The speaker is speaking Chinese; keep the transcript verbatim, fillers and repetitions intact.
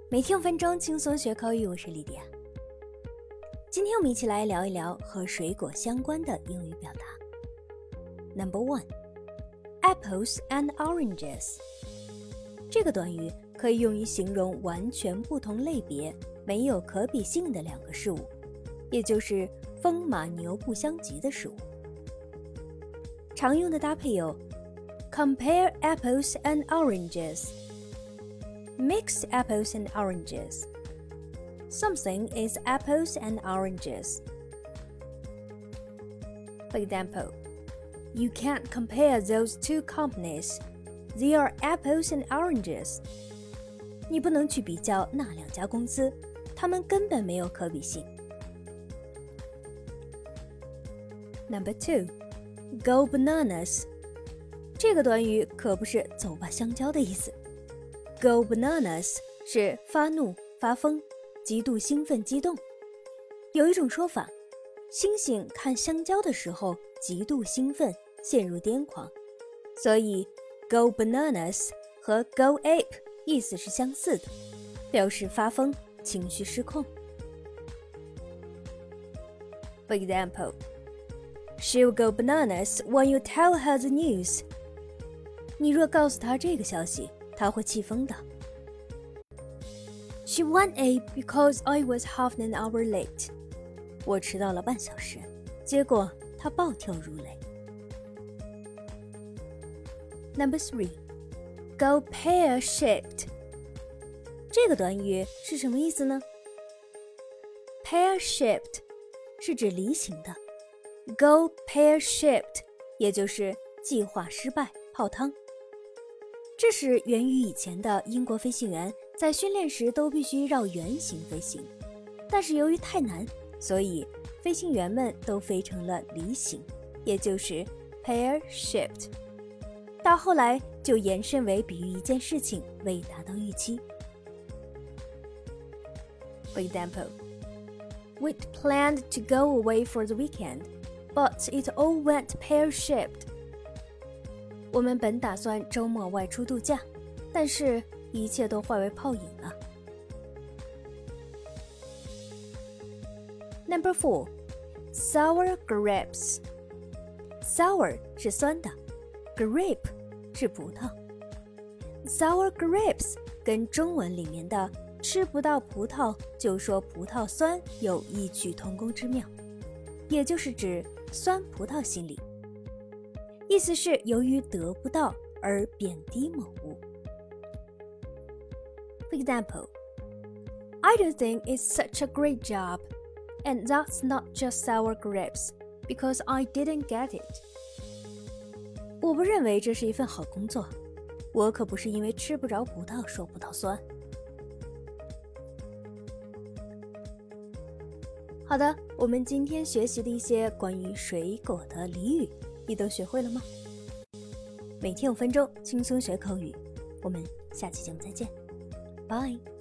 每天五分钟轻松学口语，我是莉迪亚。今天我们一起来聊一聊和水果相关的英语表达。Number one, apples and oranges。这个短语可以用于形容完全不同类别、没有可比性的两个事物，也就是风马牛不相及的事物。常用的搭配有 compare apples and oranges。Mix apples and oranges. Something is apples and oranges. For example, you can't compare those two companies. They are apples and oranges. 你不能去比较那两家公司，它们根本没有可比性。Number two, go bananas. 这个短语可不是走吧香蕉的意思。Go bananas 是发怒、发疯、极度兴奋、激动。有一种说法，猩猩看香蕉的时候极度兴奋，陷入癫狂，所以 go bananas 和 go ape 意思是相似的，表示发疯、情绪失控。For example, she'll go bananas when you tell her the news. 你若告诉她这个消息，他会气疯的。She went ape because I was half an hour late. 我迟到了半小时，结果她暴跳如雷。Number three, go pear-shaped. 这个短语是什么意思呢？ Pear-shaped 是指梨形的 ，go pear-shaped 也就是计划失败、泡汤。这是源于以前的英国飞行员在训练时都必须绕圆形飞行，但是由于太难，所以飞行员们都飞成了梨形，也就是 pear-shaped。到后来就延伸为比喻一件事情未达到预期。For example, we'd planned to go away for the weekend, but it all went pear-shaped.我们本打算周末外出度假，但是一切都化为泡影了。Number four, sour grapes. Sour 是酸的 ，grape 是葡萄。Sour grapes 跟中文里面的吃不到葡萄就说葡萄酸有异曲同工之妙，也就是指酸葡萄心理。意思是由于得不到而贬低某物。For example, I don't think it's such a great job, and that's not just sour grapes, because I didn't get it. 我不认为这是一份好工作，我可不是因为吃不着葡萄说葡萄酸。好的，我们今天学习的一些关于水果的俚语你都学会了吗？每天五分钟轻松学口语，我们下期节目再见，拜。